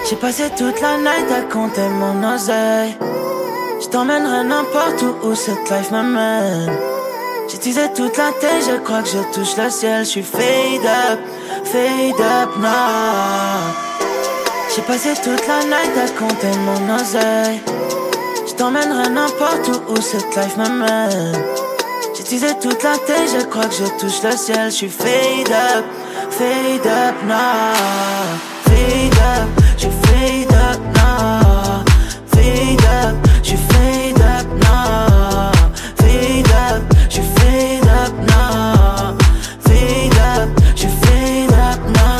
J'ai passé toute la night à compter mon oseille. Je t'emmènerai n'importe où cette life m'amène. J'ai teasé toute la tête, je crois que je touche le ciel. Je suis fade up now. J'ai passé toute la night à compter mon oseille. Je t'emmènerai n'importe où cette life m'amène. J'ai teasé toute la tête, je crois que je touche le ciel. Je suis fade up now. Fade up, je fade up now. Fade up, je fade up now. Fade up, je fade up now. Fade up, je fade up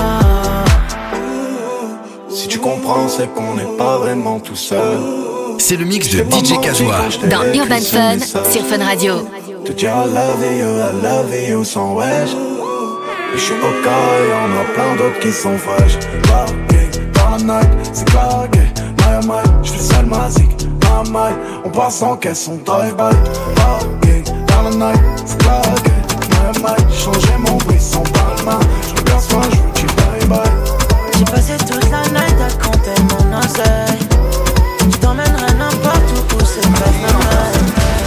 now. Si tu comprends, c'est qu'on n'est pas vraiment tout seul. C'est le mix de DJ Kazoa dans Urban Fun sur Fun Radio. Te dire I love you sans wesh. Je suis au cas et y'en a plein d'autres qui sont fraîches. Largué dans la night, c'est clagué. My, j'fais seul ma zik. My, on passe en caisse, on drive-by. Largué dans la night, c'est clagué. My, j'ai changé mon bruit sans palma. J'regarde soin, j'veux tu bye-bye. J'ai passé toute la night à compter mon oseille. Je t'emmènerai n'importe où cette life m'amène.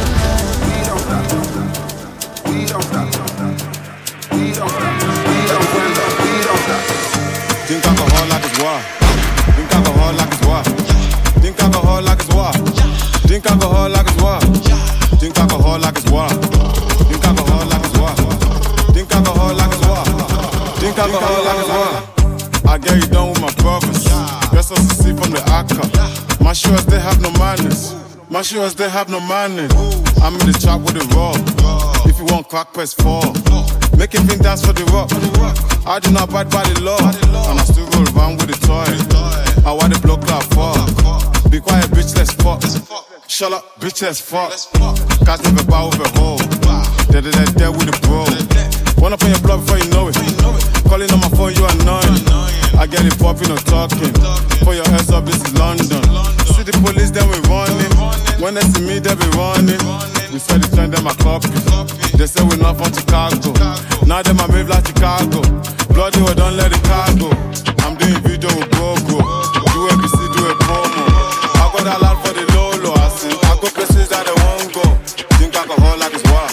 Drink alcohol like it's water. Drink alcohol like it's water. Drink alcohol like it's water. Drink alcohol like it's water. Drink alcohol like it's water. Drink alcohol like it's water. Drink alcohol like it's water. Drink alcohol like it's water. I get you done with my brothers. Rest us to see from the Akka. My shoes they have no manners. My shoes they have no manners. I'm in the trap with the raw. If you want crack, press 4. Make him dance for the rock. I do not abide by the law, and I still roll around with the toy. I want the block like fuck. Be quiet, bitch, let's fuck. Shut up, bitch, let's fuck. Cats never bow with a hoe. Dead with the bro. Run up on your block before you know it. Calling on my phone, you annoying. I get it popping or talking. For your ass up, this is London. See the police, then we running. When they see me, they be running. We said the trend, them a copy. They say we not from Chicago. Now them a move like Chicago. Bloody, we don't let the car go. I'm doing video with GoGo. Do ABC, do a promo. I got a lot for the Lolo. I see, I go places that they won't go. Drink alcohol like it's water.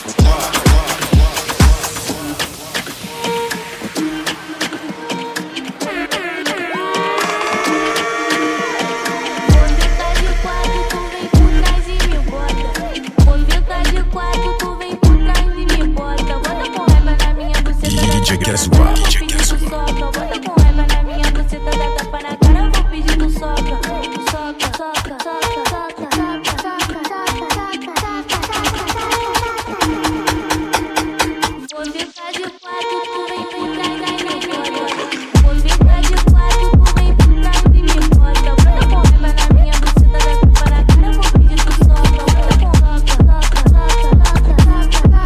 DJ Kazoa. Bota com raiva na minha buceta, dá tapa na cara, vou pedir no soca. Soca, soca, soca, soca, soca, soca, vou ficar de quatro, tu vem por trás e me bota. Vou ficar de quatro, tu vem por trás e me bota. Bota com raiva na minha buceta, dá tapa na cara, vou pedir no soca. Bota com soca, soca, soca, soca,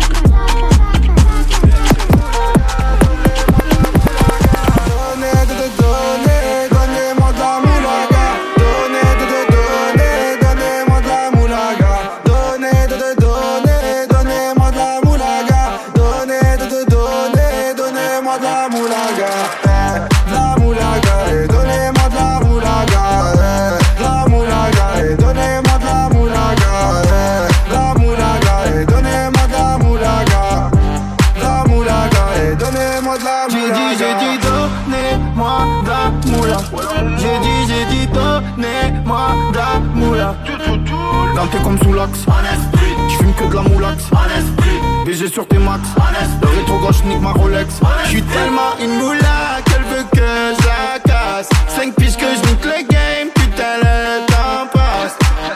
Ganté comme sous l'axe, j'fume que de la moulax, BG sur tes max, le rétro gauche nique ma Rolex. J'suis tellement une moula qu'elle veut que je la casse. 5 piges que je nique le game, putain le temps passe.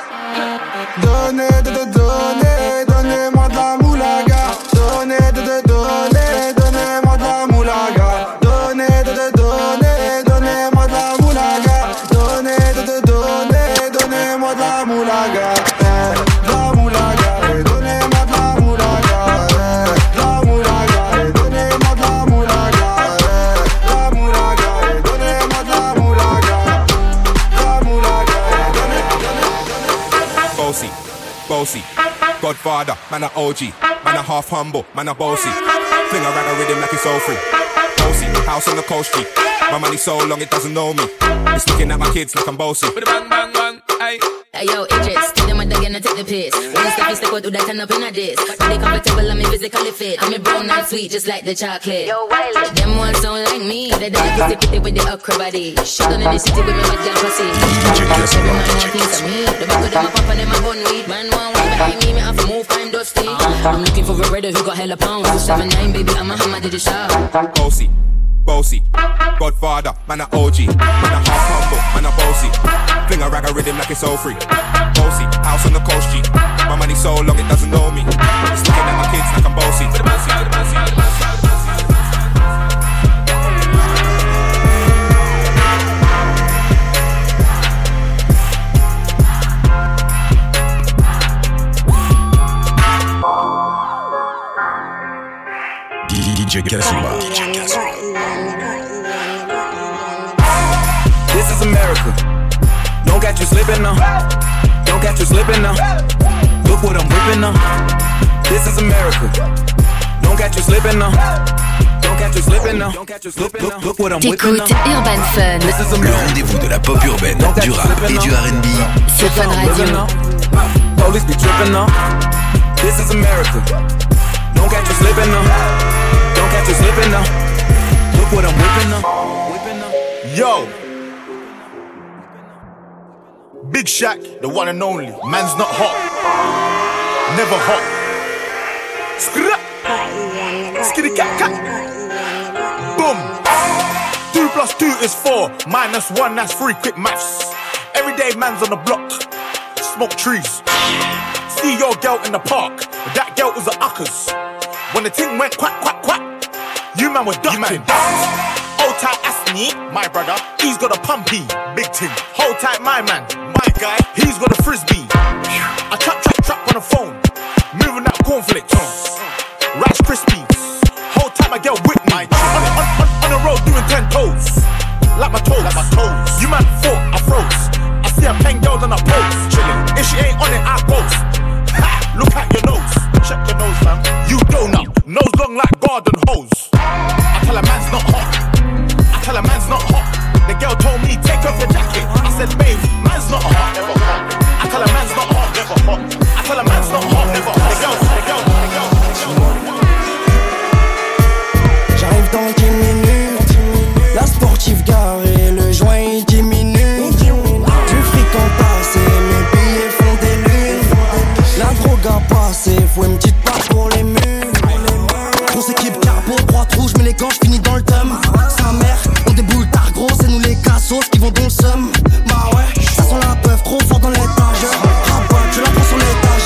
Donnez-moi de la moulaga. Donnez-moi de la moulaga. Donnez-moi de la moulaga. Donnez-moi de la moulaga. Bossy, Godfather, man a OG, man a half humble, man a bossy. Fling around a rhythm like it's all free. Bossy, house on the coast G. My money so long it doesn't know me. It's looking at my kids like I'm bossy. Bang, bang, bang, hey. Hey yo, Idris, tell them again and take the piss. When you step out, do that turn up in a diss. They comfortable and me physically fit. I'm brown and sweet just like the chocolate. Yo, Wiley. Them ones don't like me. They don't like pussy with the okra body. Shut down in the city with me with girl pussy. Every man want things of me. The back of them a pop and them a bun weed. Man want one behind me have to move kind dusty. I'm looking for a redder who got hella pounds. 279 baby, I'm a hammer to the shop. Bossy, bossy, Godfather, man a OG, man a half humble, man a bossy. Fling a rag a rhythm like it's all free. Bossy, house on the coast G. My money so long it doesn't know me. It's looking at my kids like I'm bossy. DJ Kazuma. This is America. Don't catch you slipping now. Don't catch you slipping now. Look what I'm whipping now. This is America. Don't catch you slipping now. Don't catch you slipping now. Look what I'm whipping now. T'écoutes Urban Fun. Le rendez-vous de la pop urbaine, du rap et du R&B. C'est Fun Radio. Police be tripping now. This is America. Don't catch you slipping now. Don't catch you slipping now. Look what I'm whipping now. Yo, Big Shaq, the one and only. Man's not hot, never hot. Skitty cat cat. Boom. 2 + 2 is 4. -1, that's 3. Quick maths. Everyday man's on the block. Smoke trees. See your girl in the park. That girl was a uckers. When the ting went quack quack quack, you man were ducking. Hold tight, Asney, my brother. He's got a pumpy, big ting. Hold tight, my man, my guy. He's got a frisbee. I trap on the phone, moving out cornflakes, Rice Krispies. Hold tight, my girl Whitney. On the road doing 10 toes, like my toes. You man thought I froze. I see a pen girl on a pose, chilling. If she ain't on it, I pose. Ha! Look at your nose. Check your nose, fam. You donut. Nose long like garden hose. I tell a man's not hot. I tell a man's not hot. The girl told me, take off your jacket. I said, babe, man's not hot. Never hot. I tell a man's not hot. Never hot. I tell a man's not hot. Never hot. The girl. J'arrive dans 10 minutes. La sportive garée, le joint il diminue. Du fric en tasse et mes billets font des lunes. La drogue a passé, faut une petite part pour les murs. Grosse équipe carbo, droite rouge, mais les gants j'finis dans le thème. Sa mère, on déboule tard gros, c'est nous les cassos qui vont dans le seum. Bah ouais, ça sent la peuf trop fort dans l'étagère. Rabat, je la prends sur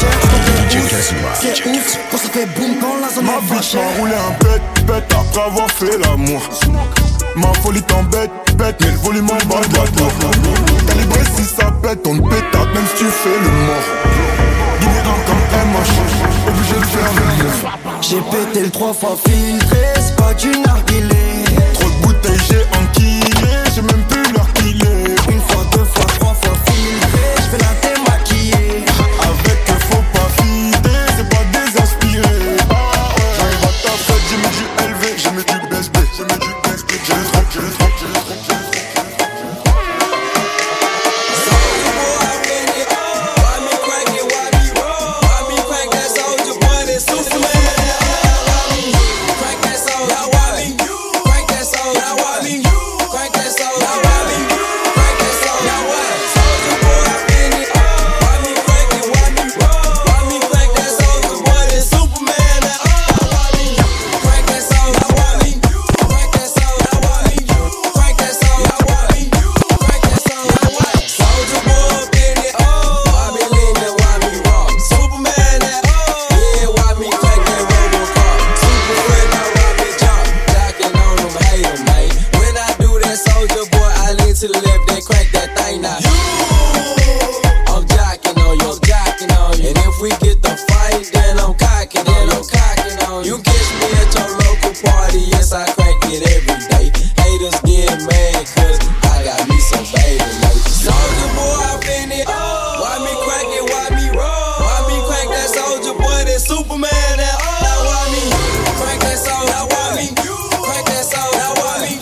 l'étagère. C'est ouf, quand ça fait boum quand la zone est fâchée. M'a roulé un pète après avoir fait l'amour. Ma folie t'embête, mais le volume en bas de la tour. Calibré si ça pète, on te pétate même si tu fais le mort. Guinéen comme MH, obligé de faire le move. J'ai pété le 3 fois filtré, c'est pas du narguilé. Trop de bouteilles j'ai enquillé, j'ai même plus l'heure qu'il est. 1 fois, 2 fois, 3 fois filtré, j'fais la démaquiller. Avec faut pas fider, c'est pas désinspiré. J'arrive à ta fête, j'ai mis du LV, j'ai mis du BSB, j'ai mis du BSB, j'ai le trompe. Superman, now why me? Crank that soul, now why me? Crank that soul, now why me?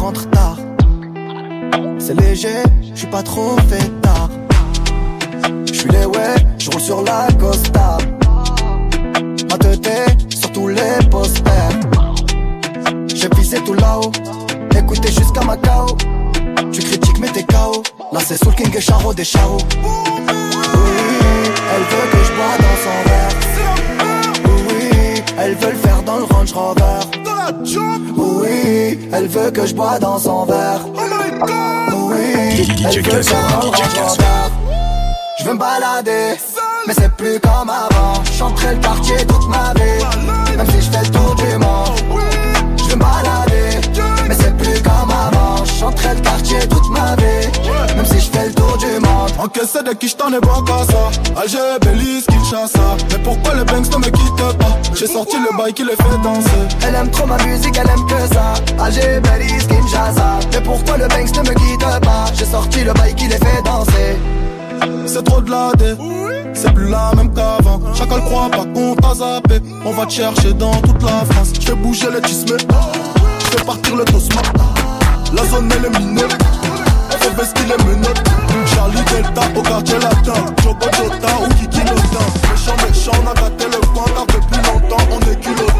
rentre tard. C'est léger, j'suis pas trop fait tard. J'suis les ouais, j'roule sur la Costa. Ma teuté sur tous les posters. J'ai visé tout là-haut, écoutez jusqu'à Macao. Tu critiques mais t'es KO. Là c'est Soul King et Charo des Charo. Oui, elle veut que je bois dans son verre. Oui, elle veut le faire dans le Range Rover. Oui, elle veut que je bois dans son verre. Oui, elle veut le faire dans le Range Rover. Je veux me balader, mais c'est plus comme avant. J'chanterai le quartier toute ma vie, même si je fais le tour du monde. Je veux me balader, mais c'est plus comme avant. J'chanterai le quartier toute ma vie, même si je fais le tour du monde. Encaissé de qui j't'en ai bon qu'à ça. Alger, Belize, Kinshasa. Mais pourquoi le Banks ne me quitte pas? J'ai sorti le bail qui les fait danser. Elle aime trop ma musique, elle aime que ça. Alger, Belize, Kinshasa. Mais pourquoi le Banks ne me quitte pas? J'ai sorti le bail qui les fait danser. C'est trop de la dé, c'est plus la même qu'avant. Chacun croit pas qu'on t'a zappé. On va te chercher dans toute la France. J'fais bouger les tismés, j'fais partir le tosma. La zone elle est minée, faut vestir les menottes. Charlie Delta au quartier latin, Jogo Jota ou Kiki Lotin. Méchant, on a gâté le coin car depuis longtemps on est culotté.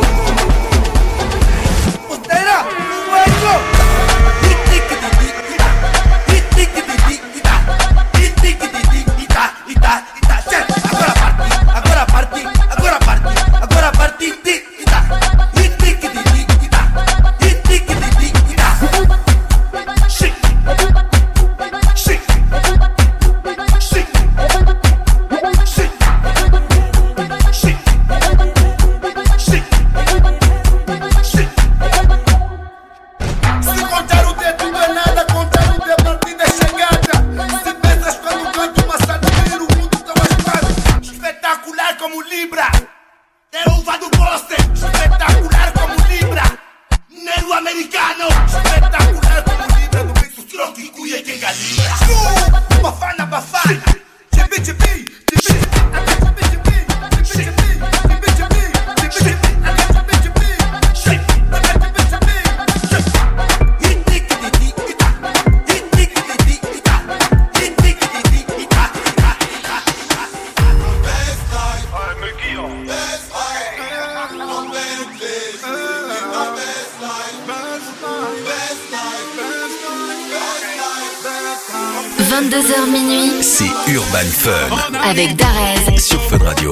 C'est Urban Fun avec Darez sur Fun Radio.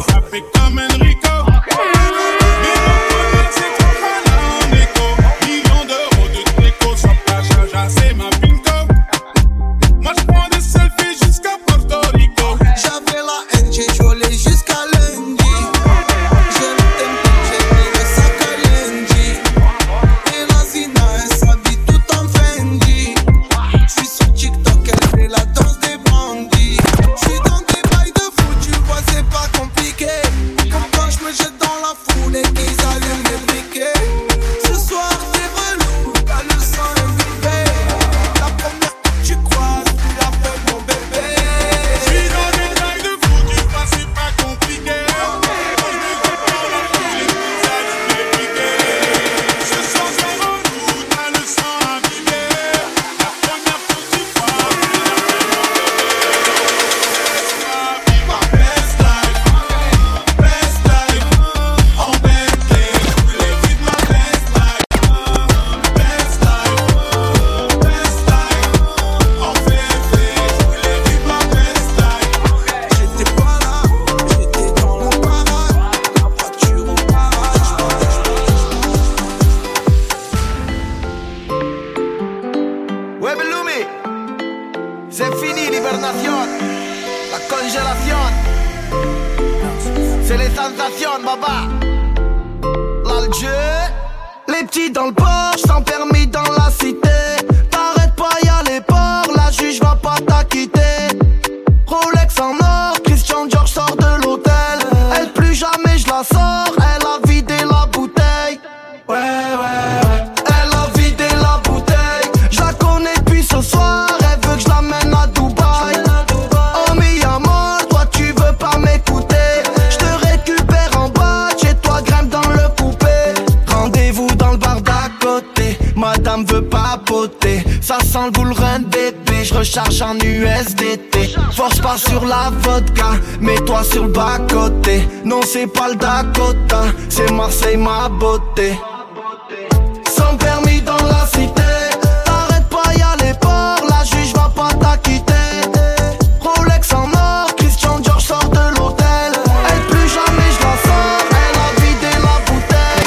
ça sent le bull run bébé. Je recharge en USDT. Force pas sur la vodka, mets-toi sur le bas-côté. Non c'est pas le Dakota, c'est Marseille ma beauté. Sans permis dans la cité, t'arrêtes pas y'a les ports, la juge va pas t'acquitter. Rolex en or, Christian Dior sort de l'hôtel. Elle plus jamais je la sors, elle a vidé la bouteille.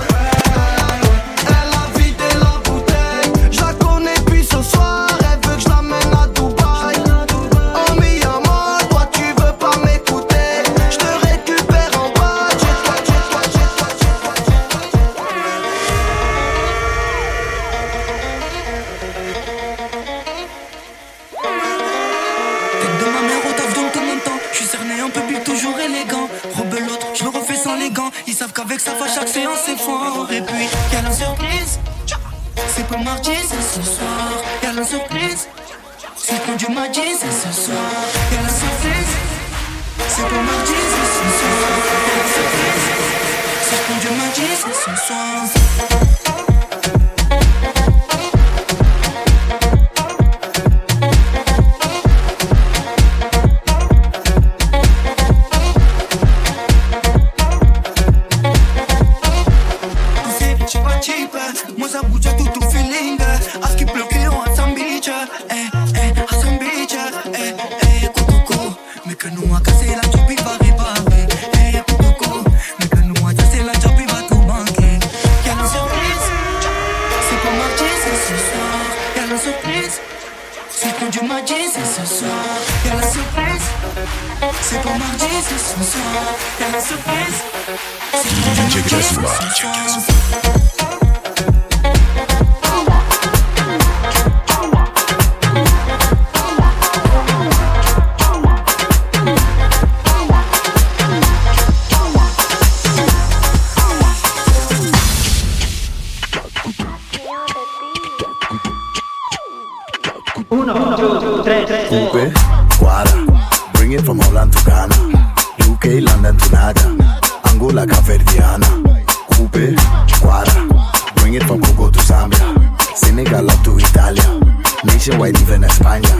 Elle a vidé la bouteille. Je la connais puis ce soir, elle veut que je l'amène à Dubaï. Oh mi amor, toi tu veux pas m'écouter. Je te récupère en bas, jette-toi. Tête de ma mère au taf dans tout mon temps. J'suis cerné un peu big, toujours élégant. Rebelote, je le refais sans les gants. Ils savent qu'avec ça va chaque séance c'est fort. Et puis, y'a la surprise. C'est pas mardi, c'est ce soir. Y'a la surprise. Si je prends du mardi, c'est ce soir. Y'a la surprise. C'est pas mardi, c'est ce soir. Y'a la surprise. Si je prends du mardi, c'est ce soir. Moi ça bouge à tout feeling. À ce qui pleut on a some beach. À some beach. Coco. Mais que nous a cassé la job il va réparer. Coco. Mais que nous a cassé la job il va tout banquer. Y'a la surprise. C'est pas mardi c'est ce soir. Y'a la surprise. Si je prends du mardi c'est ce soir. Y'a la surprise. C'est pas mardi c'est ce soir. Y'a la surprise. Si je prends du mardi c'est ce soir. Coupe, guarda, bring it from Holland to Ghana, UK, London to Naga, Angola, Caverdiana. Coupe, guarda, bring it from Congo to Zambia, Senegal up to Italia, nationwide even España.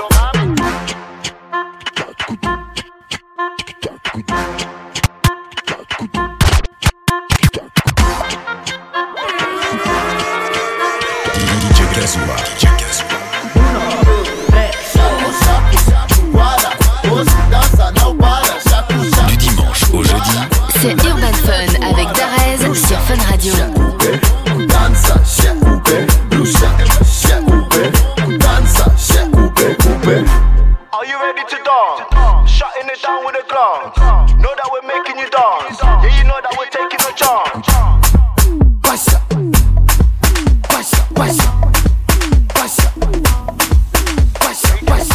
Du dimanche au jeudi, c'est Urban Fun avec Darez sur Fun Radio. Danza, coupe, blusa, coupe, danza, coupe. Are you ready to dance? Shutting it down with a glance. Know that we're making you dance. Yeah, you know that we're taking a chance. Pasa, pasa, pasa, pasa, pasa, pasa.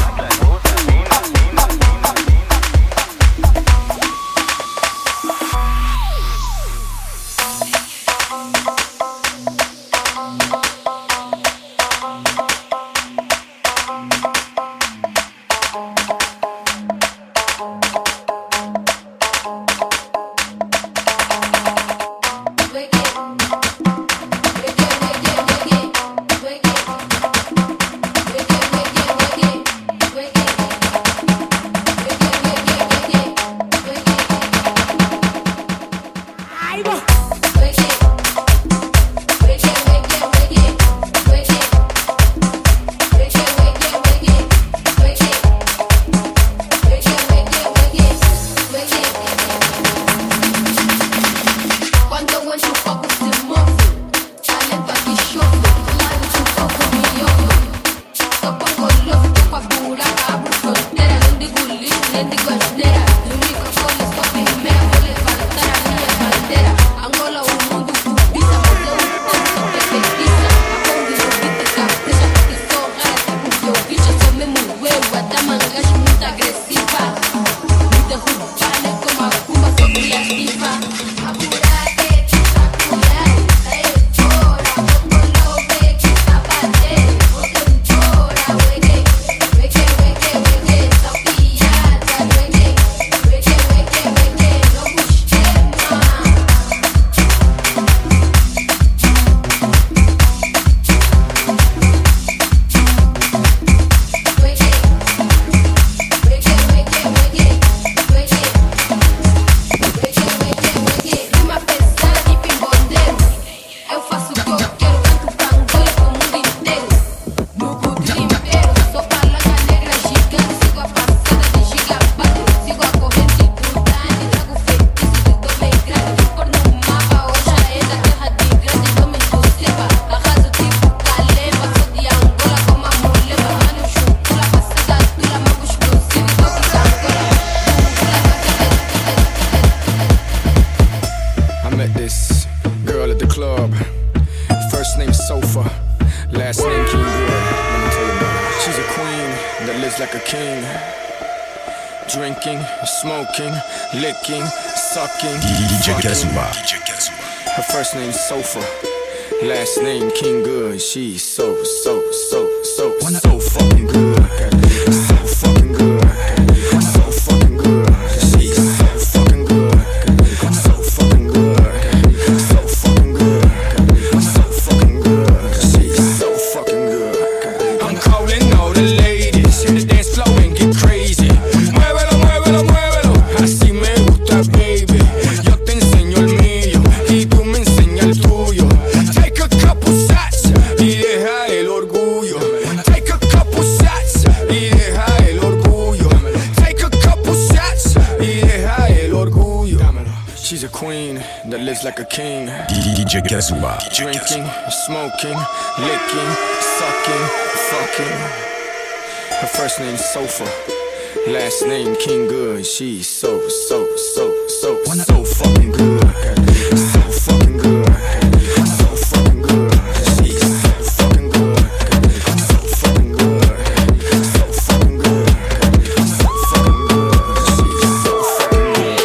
met this girl at the club. First name Sofa, last name King Good. Let me tell you about her. She's a queen that lives like a king. Drinking, smoking, licking, sucking. DJ Kazuma. Her first name Sofa, last name King Good. She's so fucking good. So fucking good. So fucking good. She's so fucking good. So fucking good. So fucking good. So fucking good. She's so fucking good. I'm calling all the ladies in the dance floor and get crazy. Muévelo, muévelo, muévelo. Así me gusta, baby. Yo te enseño el mío y tú me enseñas el tuyo. Take a couple shots y deja el orgullo. Take a couple shots y deja el orgullo. Take a couple shots y deja el orgullo. She's a queen that lives like a king. DJ Kazuma. Drinking, smoking, licking, sucking, fucking. Her first name's Sofa, last name King Good. She's so fucking good. So fucking good. So fucking good. She's so fucking good. So fucking good. So fucking good. So fucking good. She's so fucking good.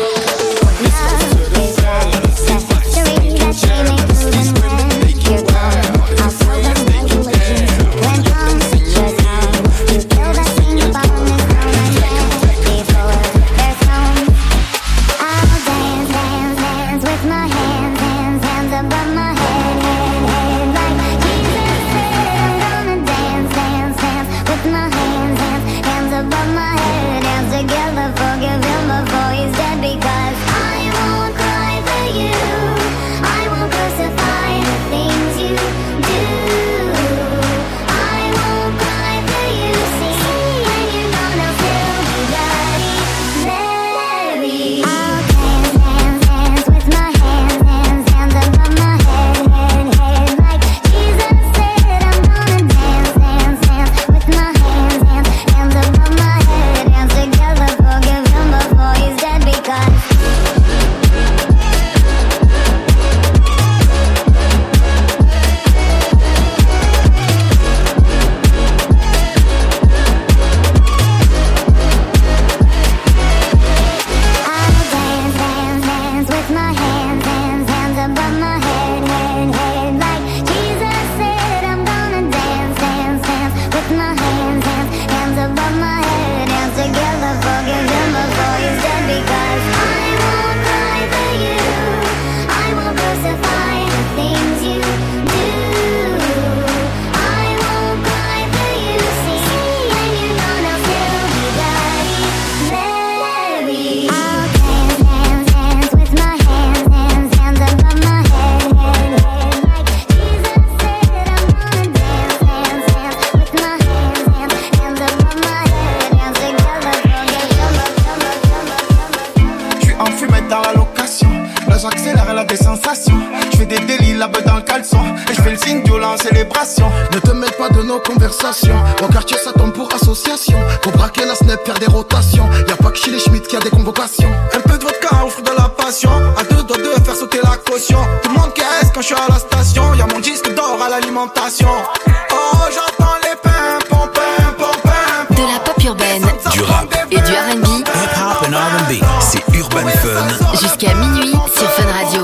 Ne te mêle pas de nos conversations. Au quartier ça tombe pour association. Pour braquer la snap, faire des rotations. Y'a pas que chez les Schmitt qui a des convocations. Un peu de vodka offre de la passion. À deux doigts de faire sauter la caution. Tout le monde caisse quand je suis à la station. Y'a mon disque d'or à l'alimentation. Oh j'entends les pimpons, pimpons, pimpons. De la pop urbaine, du rap et du R&B. Hip-hop and R&B. C'est Urban Fun. Jusqu'à minuit sur Fun Radio.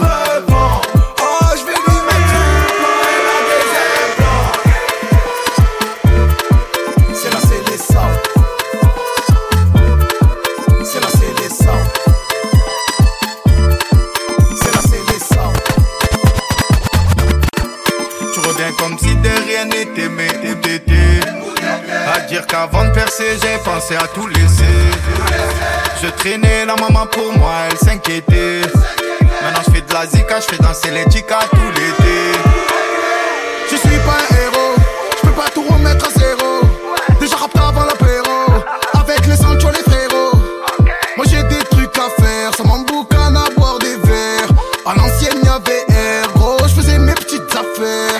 Qu'avant de percer, j'ai pensé à tout laisser. Je traînais la maman pour moi, elle s'inquiétait. Maintenant je fais de la zika, je fais danser les chicas tout l'été. Je suis pas un héros, je peux pas tout remettre à zéro. Déjà rapte avant l'apéro, avec les Sancho les frérots. Moi j'ai des trucs à faire, ça m'emboucane à boire des verres. À l'ancienne y'avait air, gros, je faisais mes petites affaires.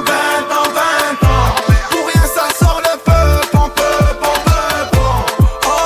Oh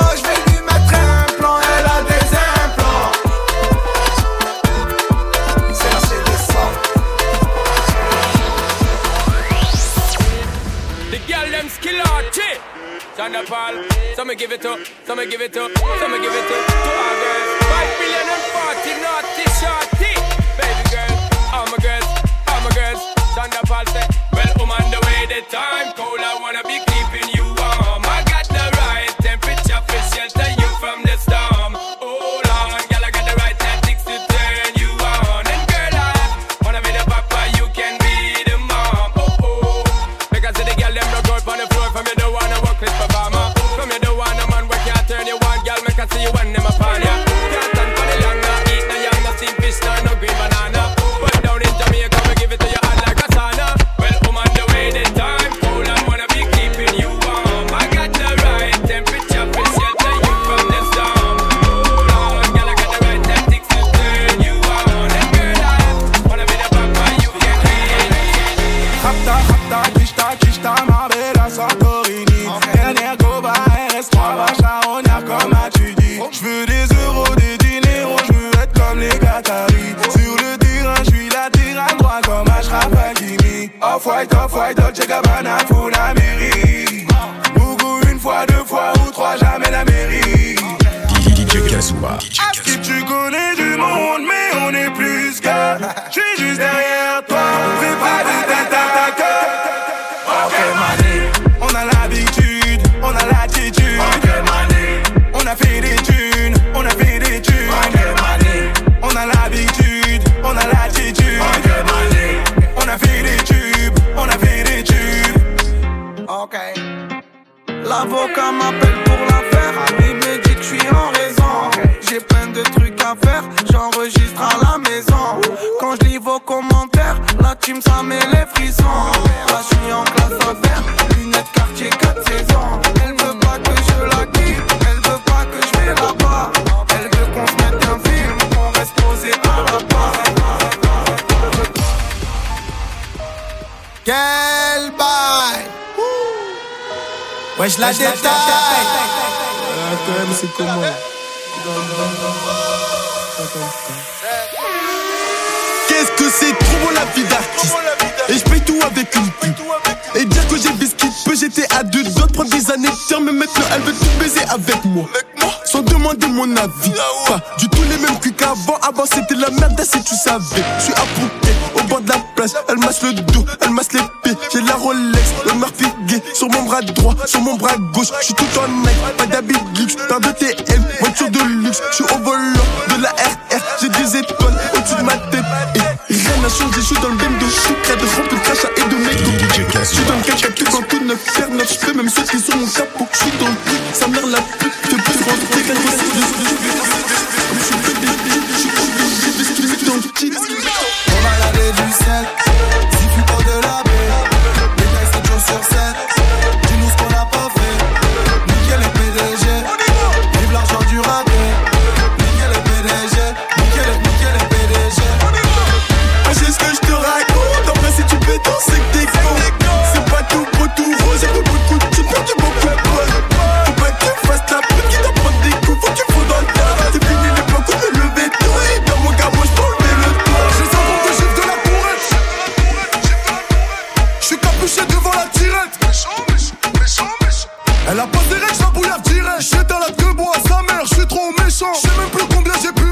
Paul. So me give it up, so me give it up, so me give it up to all girls. 5 million and 40 naughty shorty. Baby girl, all my girls, all my girls. Shonda Paul say, well, I'm on the way, the time cold, I wanna be keeping you warm. I got the right temperature for shelter you from the storm. Hold on, girl, I got the right tactics to turn you on. And girl, I wanna be the papa, you can be the mom. Oh, oh. Because the girl, them broke out on the floor. From you don't wanna work with performer. From you don't wanna man, we can't turn you on. Girl, make I see you when them upon ya. Can't stand for the long, no eat no young, no steam fish, no green banana. But down in Jamaica, we give it to you hot like a sauna. Well, I'm on the way, the time cold, I wanna be keeping you warm. I got the right temperature for shelter you from the storm. Hold on, girl, I got the right tactics to turn you on. And girl, I wanna be the papa, you can be. Kishta, ma bella Santorini. Dernière Goba, RS3, Vacharonia, comme as-tu dit. J'veux des euros, des diners, j'veux être comme les Qataris. Sur le terrain, j'suis latéral droit comme Ashraf Hakimi. Off-white, Dolce Gabbana, Funameri. Bougou une fois, 2 fois ou 3, jamais la mairie. DJ Kazoua. Si tu connais du monde, mais on est plus qu'un. J'suis juste derrière toi, fais pas de tête à ta queue. Ok, mané, on a l'habitude, on a l'attitude. Ok, mané, on a fait des thunes, on a fait des thunes. Ok, mané, on a l'habitude, on a l'attitude. Ok, mané, on a fait des tubes, on a fait des tubes. Ok. L'avocat m'appelle pour l'affaire. Il me dit que je suis en raison. J'ai plein de trucs à faire. J'enregistre à la maison. Quand je lis vos commentaires, la team ça met les frissons. Là je suis en classe à faire. Lunettes quartier 4 saisons. Elle veut pas que je la quitte. Elle veut pas que je vais là-bas. Elle veut qu'on se mette un film. Qu'on reste posé à la barre. Quel bail! Ouais, je la détaille! Quand même, c'est comment? Qu'est-ce que c'est trop beau la vie d'artiste. Et je paye tout avec une pub. Et dire que j'ai biscuit peu, j'étais à 2 doigts de prendre des années de terme. Mais maintenant elle veut tout baiser avec moi. Sans demander mon avis. Pas du tout les mêmes culs qu'avant. Avant c'était la merde, si tu savais. Je suis approuvé au bord de la place. Elle masse le dos, elle masse les pieds. J'ai la Rolex, le Murphy gay. Sur mon bras droit, sur mon bras gauche. Je suis tout en Nike, pas d'habit de luxe. Paire de TM, voiture de luxe. Je suis au volant de la RR. J'ai des étoiles au-dessus de ma tête. Et rien n'a changé, je suis dans le bendo. Je suis près de remplir de crachat et de mégots. Je suis dans le caca, tout en tout neuf, faire neuf. Je peux même sauter sur mon capot. Je suis dans le truc, sa mère la pute. Je peux rentrer quand je suis comme je suis bébé, je suis obligé de se dans le kit. On va laver du sel, si tu portes de la baie. Les mecs 7 jours sur 7, dis-nous ce qu'on a pas fait. Nickel les PDG, vive l'argent du raté. Nickel les PDG, nickel les PDG. C'est ce que je te raconte, en vrai si tu peux danser que t'es con. C'est pas tout beau, tout rose, j'ai beaucoup de coups, j'ai perdu beaucoup de poils. Faut pas que tu fasses la pute qui t'en prend des coups, faut que tu fous dans le tas. C'est fini l'époque où je levais tout, et dans mon gars moi j'peux lever le toit. J'ai 50 de gifs de la pourrette. J'suis capuché devant la tirette. Elle a pas des règles, j'la bouillave direct. J'éteins la gueule, bois à sa mère, j'suis trop méchant. J'sais même plus combien j'ai pu